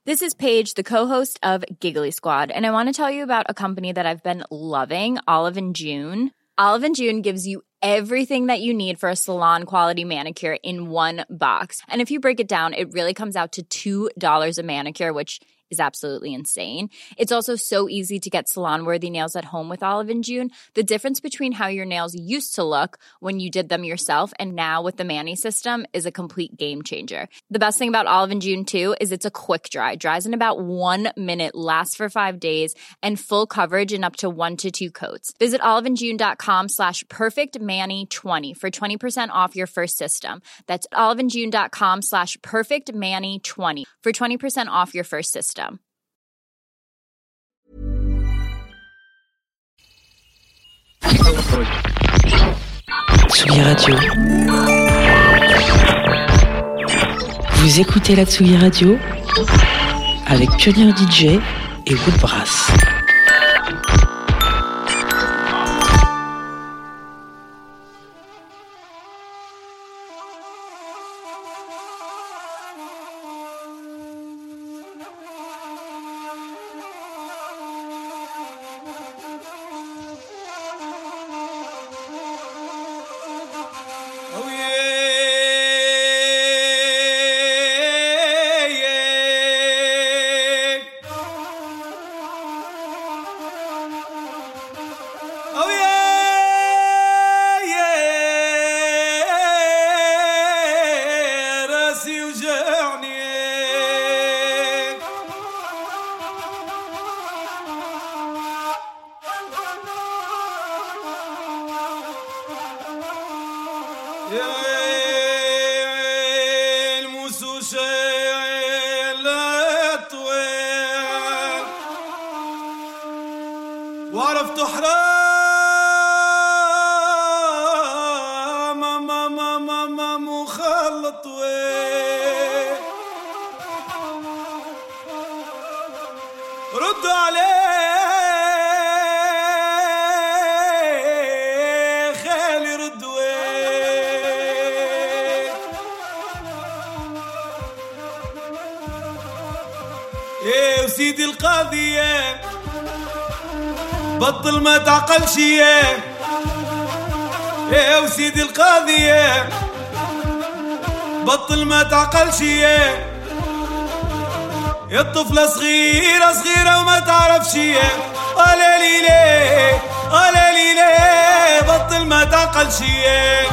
This is Paige, the co-host of Giggly Squad, and I want to tell you about a company that I've been loving, Olive & June. Olive & June gives you everything that you need for a salon-quality manicure in one box. And if you break it down, it really comes out to $2 a manicure, which is absolutely insane. It's also so easy to get salon-worthy nails at home with Olive & June. The difference between how your nails used to look when you did them yourself and now with the Mani system is a complete game changer. The best thing about Olive & June, too, is it's a quick dry. Dries in about 1 minute, lasts for 5 days, and full coverage in up to 1 to 2 coats. Visit oliveandjune.com/perfectmani20 for 20% off your first system. That's oliveandjune.com/perfectmani20 for 20% off your first system. Tsugi Radio. Vous écoutez la Tsugi Radio avec Pionnier DJ et Woodbrass. وعرفت حرام ما مخلط وين رد عليه خالي رد وين ايه وسيدي القاضية بطل ما تعقلش يا وسيدي القاضية بطل ما تعقلش يا الطفلة صغيرة وما تعرفش يا قال لي ليه بطل ما تعقلش يا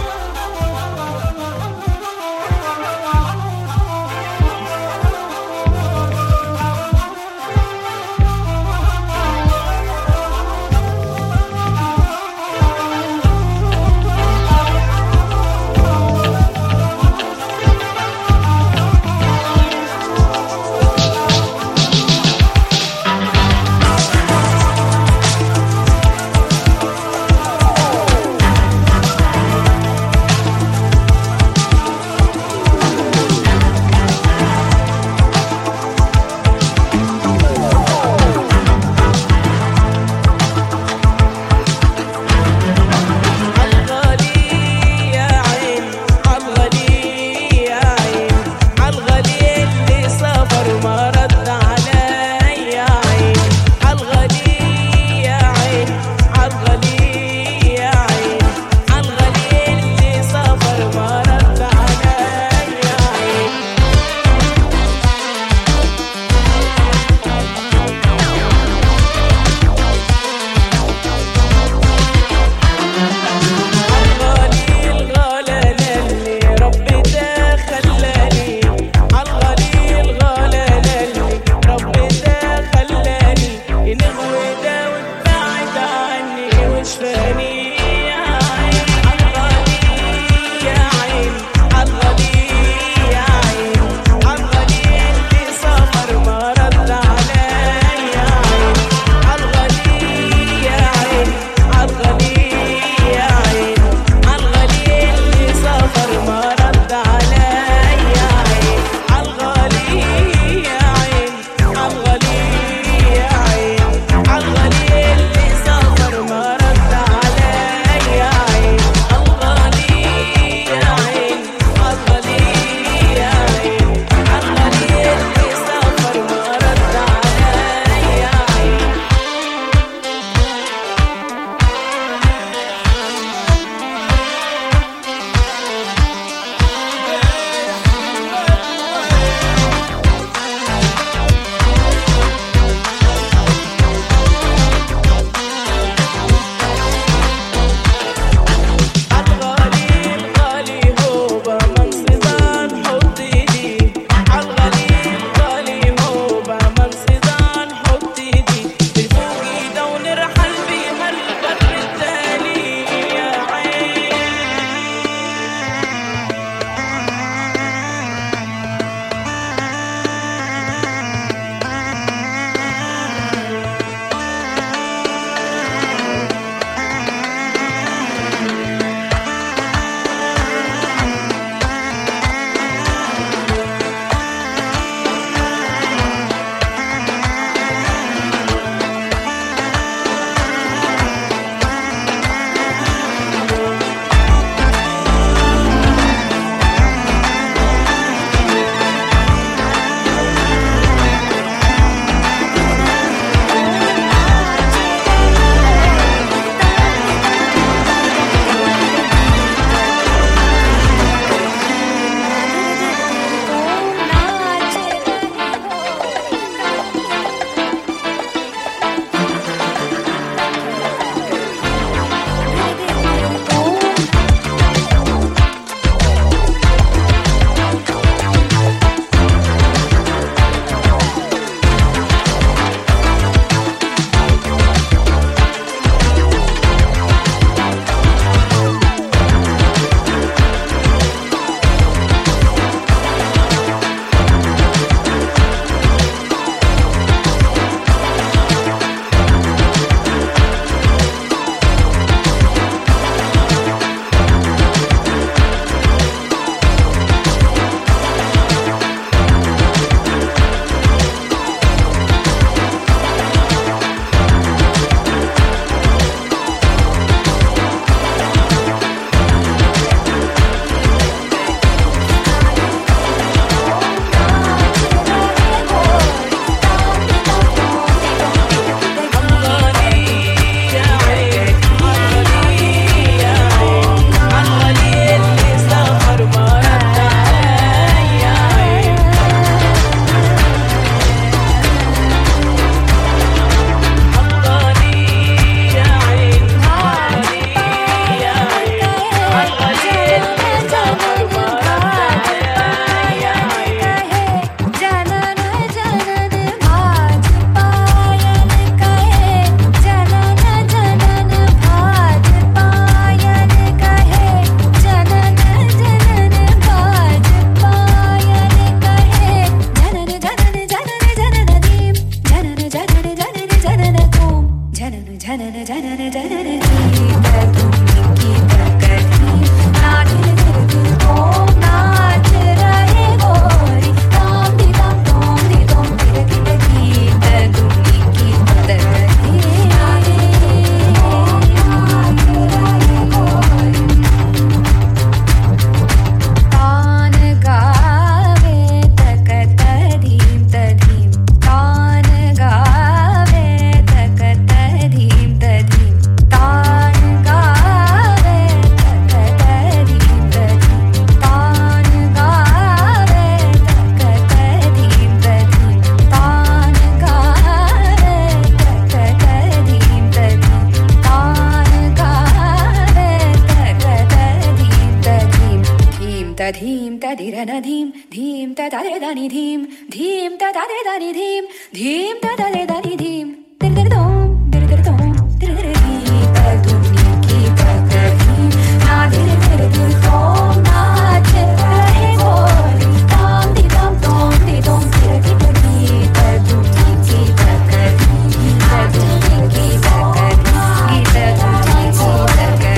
da re da ni dhim dhim da da re da ni dhim dhim da da re da ni dhim dir dir dom dir dir dom dir dir dhim ta dum ki ta ka dhim na dir dir dir dom na che rahe bol dom di dom dom di dom dir ki ta ki ta dum ki ta ka dhim ta dum ki ta ka dhim ta dum ki ta ka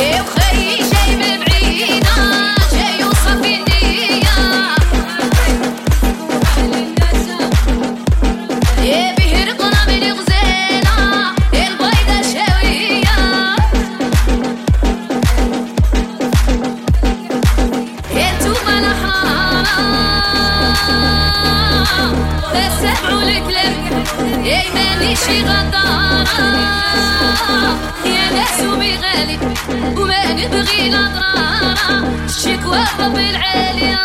شي غدارة يا ناس ومغالي وما نبغي الأضرار الشكوى رب العالية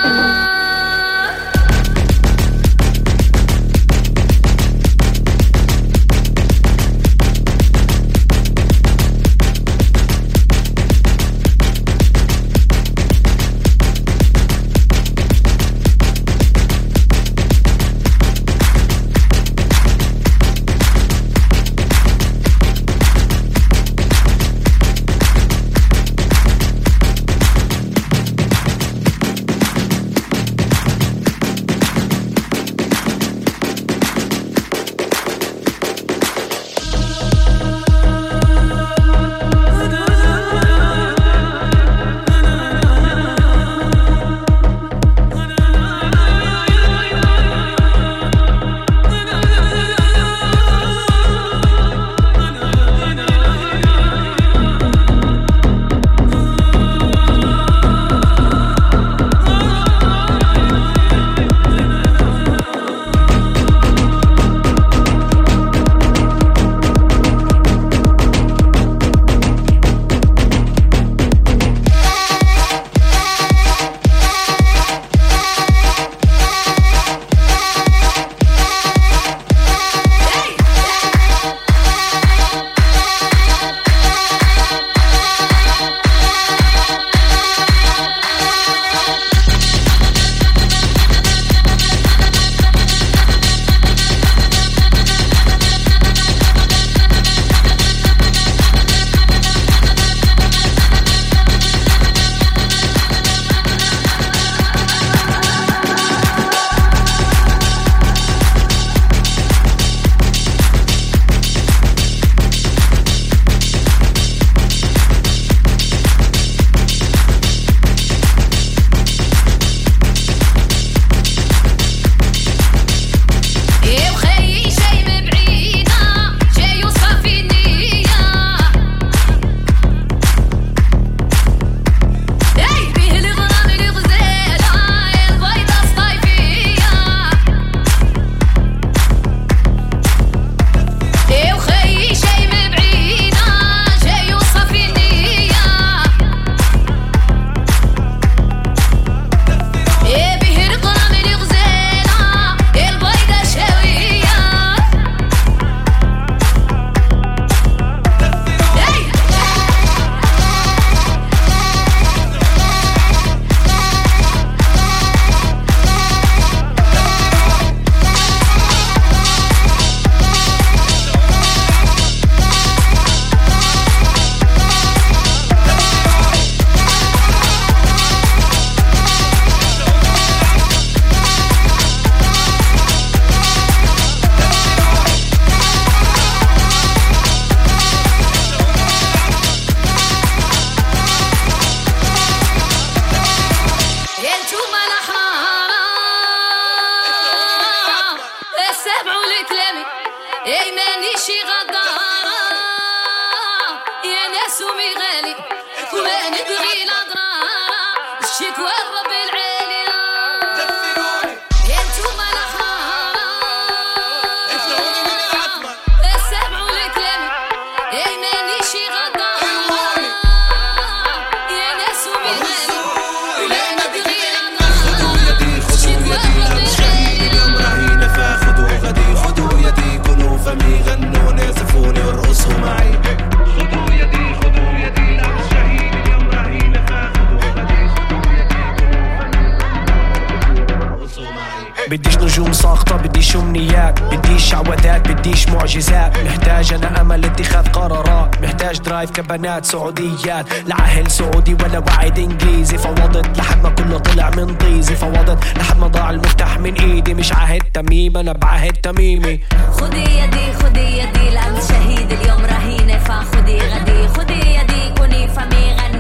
بديش نجوم ساقطة بديش أمنيات بديش شعوذات بديش معجزات محتاج أنا أمل اتخاذ قرارات محتاج درايف كبنات سعوديات لعهل سعودي ولا وعد إنجليزي فوضت لحد ما كله طلع من طيزي فوضت لحد ما ضاع المفتاح من إيدي مش عهد تميم أنا بعهد تميمي خدي يدي لأنت شهيد اليوم رهينة فخدي غدي خدي يدي كوني فمي غني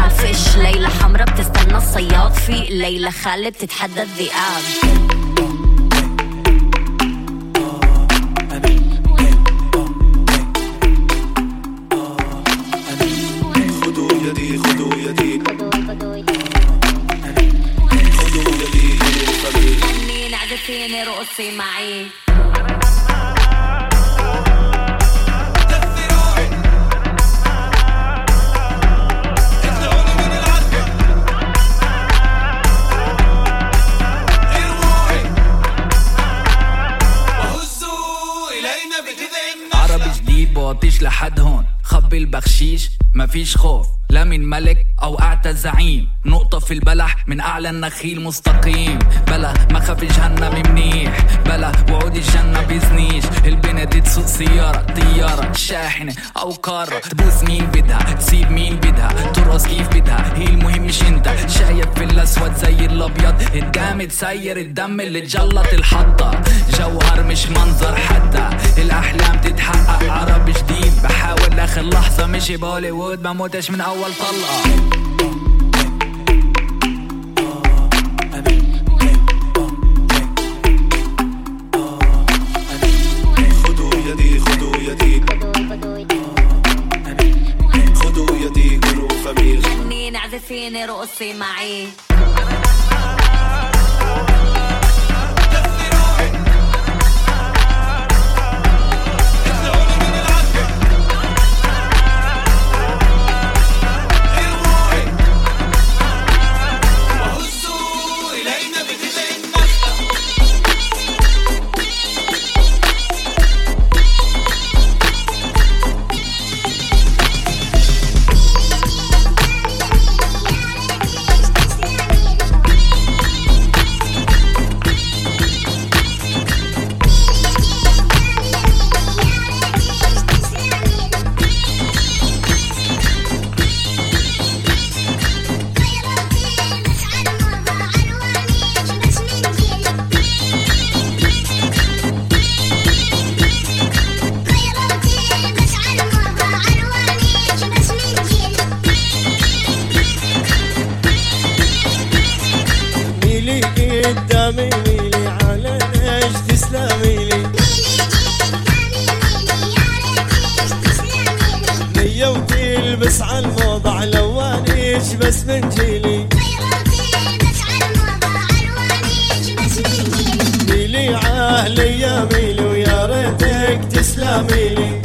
فيش. ليلة حمرا بتستنى الصياد في ليلة خالد بتتحدى الذئاب. خدوا يدي خدوا يدي غني نعزفيني رقصي معي. عربي جديد بوطيش لحد هون، خبي البخشيش مفيش خوف لا من ملك او اعتى زعيم. نقطة في البلح من اعلى النخيل مستقيم. بلا ما خاف جهنم منيح، بلا وعود الجنة بيزنيش. البنت دي تسوق سيارة طيارة شاحنة او كارة، تبوس مين بدها تسيب مين بدها ترقص كيف بدها، هي المهم مش انت. شايف في الاسود زي الابيض، الجامد سير الدم اللي تجلط الحطة. جوهر مش منظر حتى، الاحلام تتحقق. عربي جديد بحاول لاخر لحظة، مشي بوليوود بموتش من اول طلقة. خدوا يدي خدوا يدي خدوا يدي قولوا فمي. غني نعزفيني رقصي معي. قدامي ميلي على ايش تسلمي لي. نية وتلبس عالموضة لوانيش بس من جيلي. ميلي عاهلي يا ميلي ويا ريتك تسلمي لي.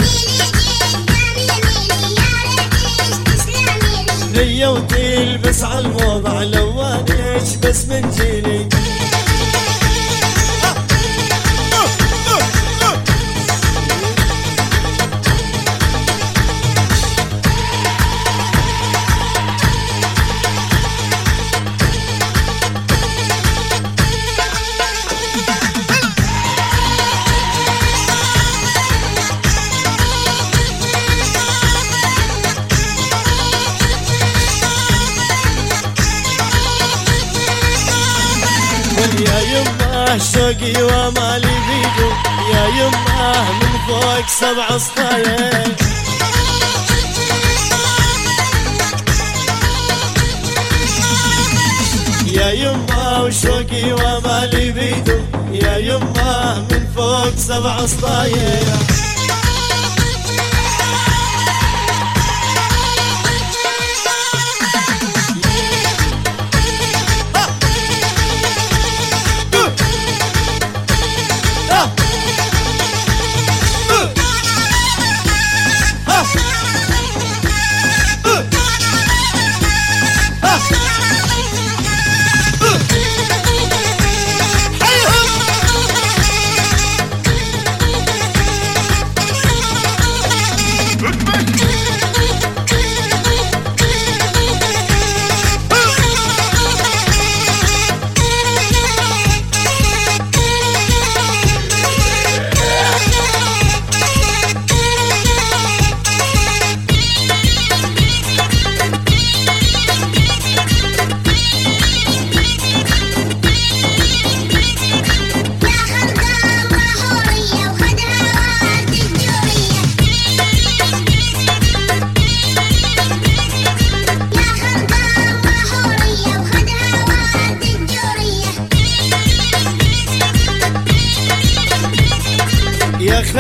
نية وتلبس عالموضة لوانيش بس من جيلي. يا يمه شوقي ومالي بيدو، يا يمه من فوق 7 سطاير. يا يمه وشوقي ومالي بيدو، يا يمه من فوق 7 سطاير.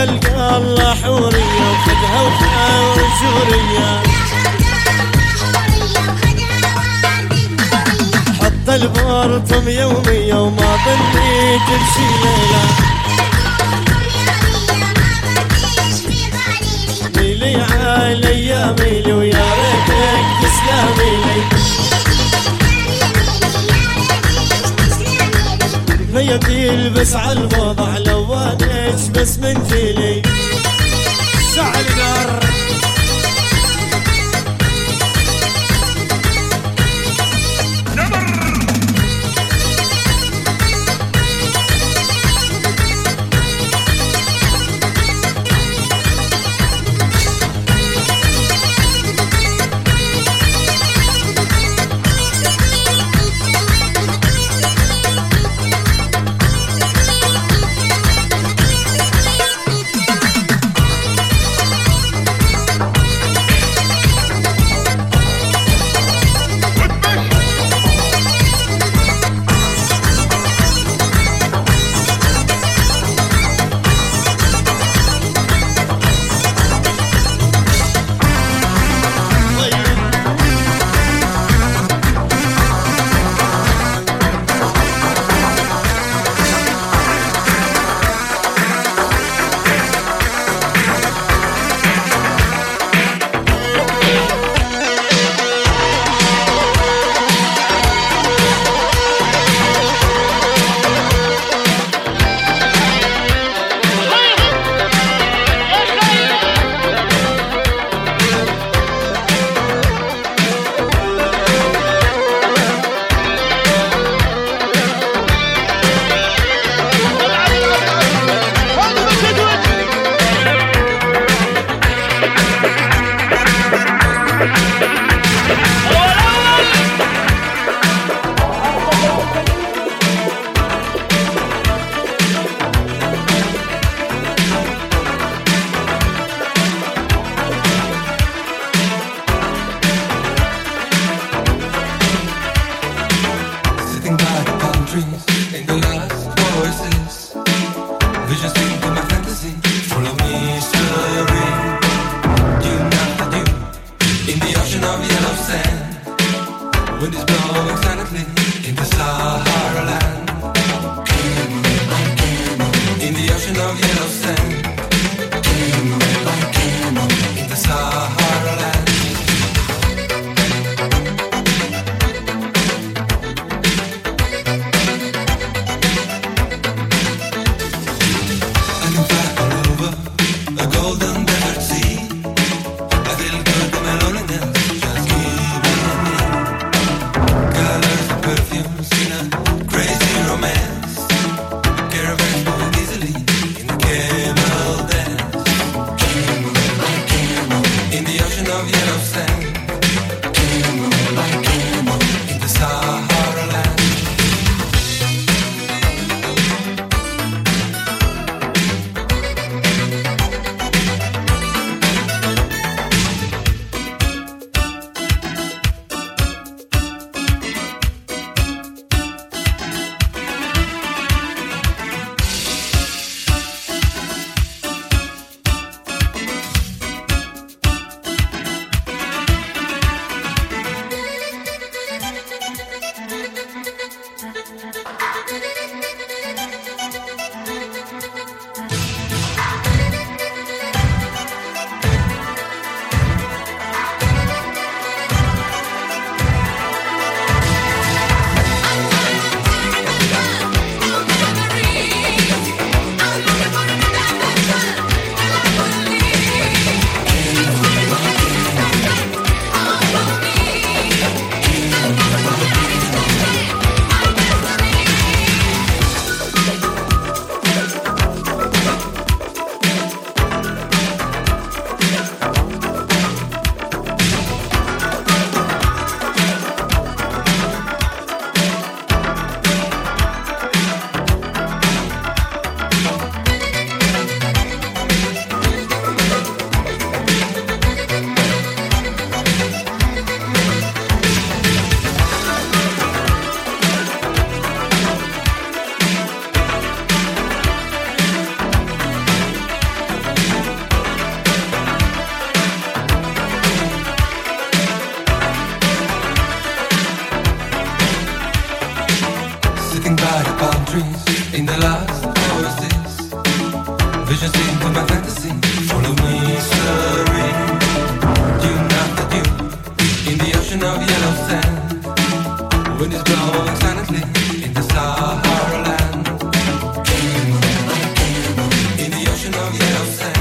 تلقى الله حورية وخدها وجورية حط البورطم يومية وما ظني تمشي ليلة ميلي علي يا ميلي ويا ريتك تسلمي لي ميتي بس عالوضع لو وانش بس من جيلي شعل نار Caravan moving easily in the camera. the last oasis. Vision seen through my fantasy. Follow me, serene. Dune after dune, in the ocean of yellow sand. Wind is blowing silently in the Sahara land. In the ocean of yellow sand.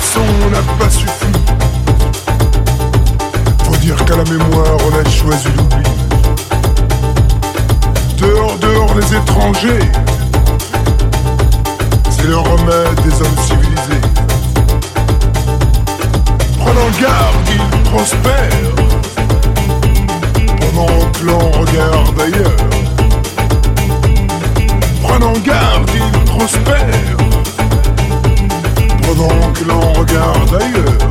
leçon n'a pas suffi. Faut dire qu'à la mémoire on a choisi l'oubli. Dehors, dehors les étrangers, c'est le remède des hommes civilisés. Prenons garde, ils prospèrent, pendant que l'on regarde ailleurs. Prenons garde, ils prospèrent, pendant que l'on regarde ailleurs.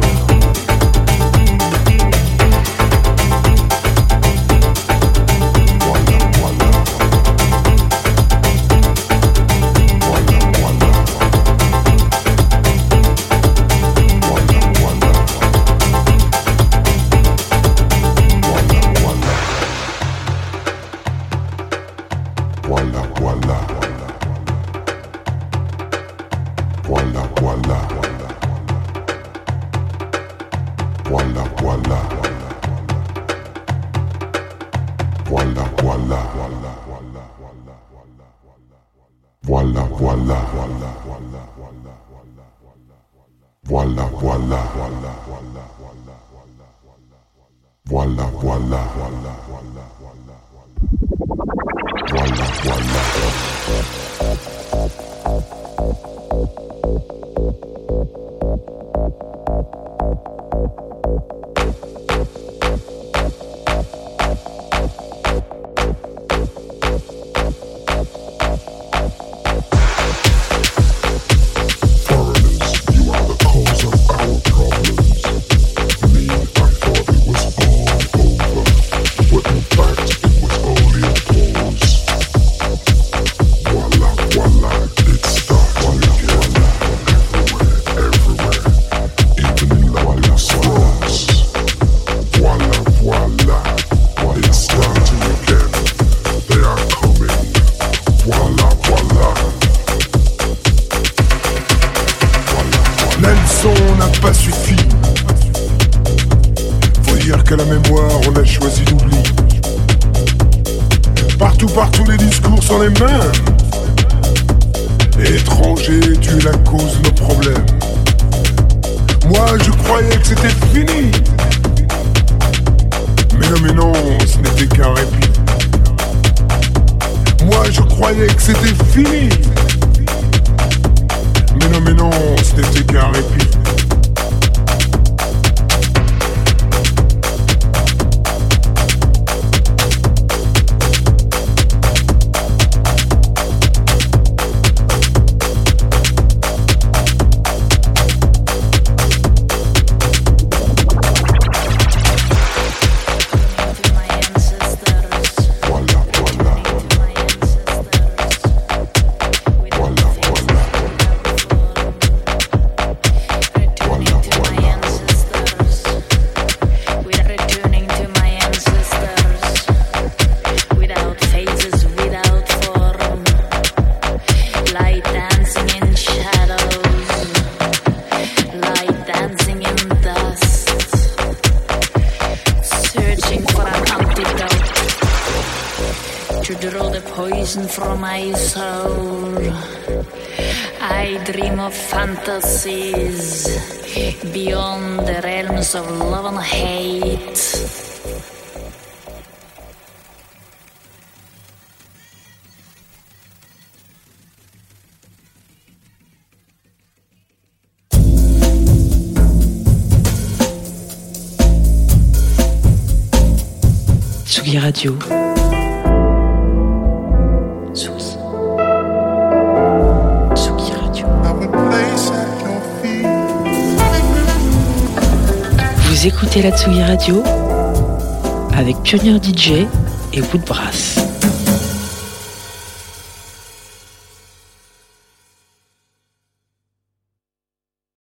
Partout les discours sont les mêmes. Étranger, tu es la cause de nos problèmes. Moi je croyais que c'était fini. Mais non, ce n'était qu'un répit. Moi je croyais que c'était fini. Mais non, ce n'était qu'un répit. From my soul, I dream of fantasies beyond the realms of love and hate. Tsugi Radio. Vous écoutez la Tsugi Radio avec Pionnier DJ et Woodbrass.